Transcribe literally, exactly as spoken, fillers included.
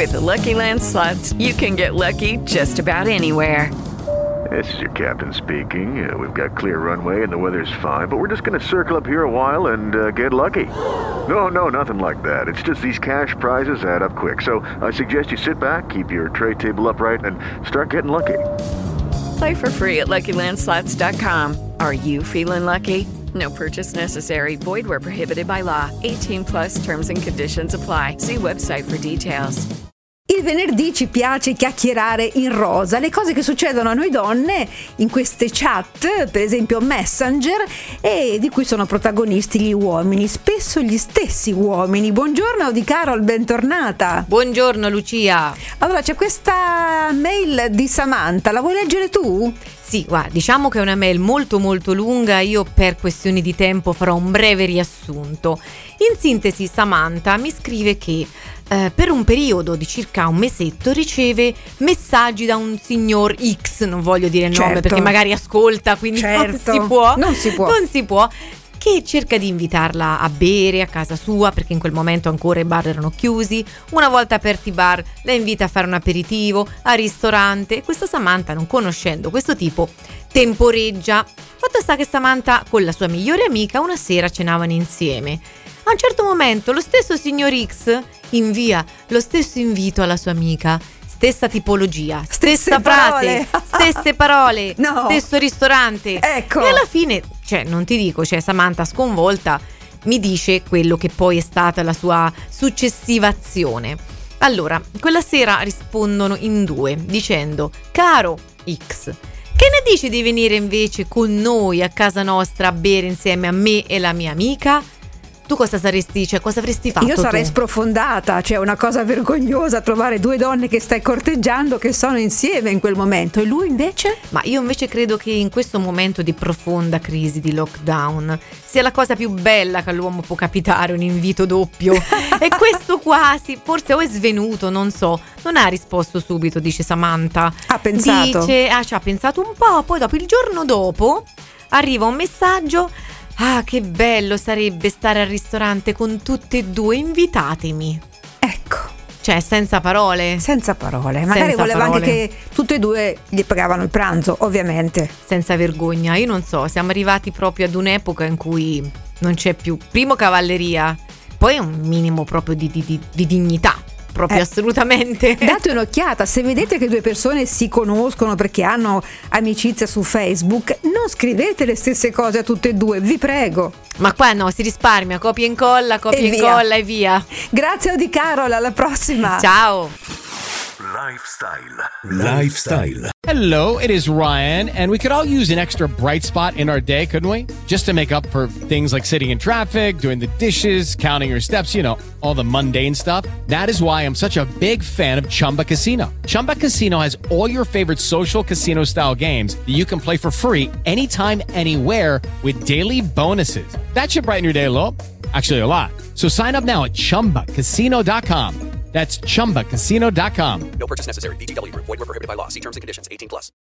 With the Lucky Land Slots, you can get lucky just about anywhere. This is your captain speaking. Uh, we've got clear runway and the weather's fine, but we're just going to circle up here a while and uh, get lucky. No, no, nothing like that. It's just these cash prizes add up quick. So I suggest you sit back, keep your tray table upright, and start getting lucky. Play for free at Lucky Land Slots dot com. Are you feeling lucky? No purchase necessary. Void where prohibited by law. eighteen plus terms and conditions apply. See website for details. Il venerdì ci piace chiacchierare in rosa, le cose che succedono a noi donne in queste chat, per esempio Messenger, e di cui sono protagonisti gli uomini, spesso gli stessi uomini. Buongiorno Di Carol, bentornata. Buongiorno Lucia. Allora, c'è questa mail di Samantha, la vuoi leggere tu? Sì, guarda, diciamo che è una mail molto molto lunga, io per questioni di tempo farò un breve riassunto. In sintesi, Samantha mi scrive che eh, per un periodo di circa un mesetto riceve messaggi da un signor X, non voglio dire il certo. nome perché magari ascolta, quindi certo. non si può, non si può, non si può, che cerca di invitarla a bere a casa sua, perché in quel momento ancora i bar erano chiusi. Una volta aperti i bar, la invita a fare un aperitivo al ristorante, e questa Samantha, non conoscendo questo tipo, temporeggia. Fatto sta che Samantha con la sua migliore amica una sera cenavano insieme. A un certo momento lo stesso signor X invia lo stesso invito alla sua amica, stessa tipologia, stessa Stesse frase, parole. stesse parole, No. stesso ristorante. Ecco. E alla fine, cioè non ti dico, cioè Samantha sconvolta mi dice quello che poi è stata la sua successiva azione. Allora, quella sera rispondono in due dicendo: caro X, che ne dici di venire invece con noi a casa nostra a bere insieme a me e la mia amica? Tu cosa saresti, cioè cosa avresti fatto? Io sarei tu? sprofondata, cioè una cosa vergognosa trovare due donne che stai corteggiando che sono insieme in quel momento, e lui invece? Ma io invece credo che in questo momento di profonda crisi di lockdown sia la cosa più bella che all'uomo può capitare, un invito doppio. E questo quasi, forse o è svenuto, non so, non ha risposto subito, dice Samantha. Ha pensato. Dice, ah, ci ha pensato un po', poi dopo il giorno dopo arriva un messaggio: ah, che bello sarebbe stare al ristorante con tutte e due, invitatemi. Ecco. Cioè, senza parole. Senza parole. Magari Senza voleva parole. anche che tutte e due gli pagavano il pranzo, ovviamente. Senza vergogna, io non so, siamo arrivati proprio ad un'epoca in cui non c'è più, primo, cavalleria, poi un minimo proprio di, di, di, di dignità, proprio Eh, assolutamente. Date un'occhiata, se vedete che due persone si conoscono perché hanno amicizia su Facebook, non scrivete le stesse cose a tutte e due, vi prego. Ma qua no, si risparmia, copia e incolla, copia E e via. incolla e via. Grazie a Di Carol, alla prossima. Ciao. Lifestyle. Lifestyle. Hello, it is Ryan, and we could all use an extra bright spot in our day, couldn't we? Just to make up for things like sitting in traffic, doing the dishes, counting your steps, you know, all the mundane stuff. That is why I'm such a big fan of Chumba Casino. Chumba Casino has all your favorite social casino style games that you can play for free anytime, anywhere with daily bonuses. That should brighten your day a little. Actually, a lot. So sign up now at chumba casino dot com. That's chumba casino dot com. No purchase necessary. V G W Group. Void where prohibited by law. See terms and conditions. eighteen plus.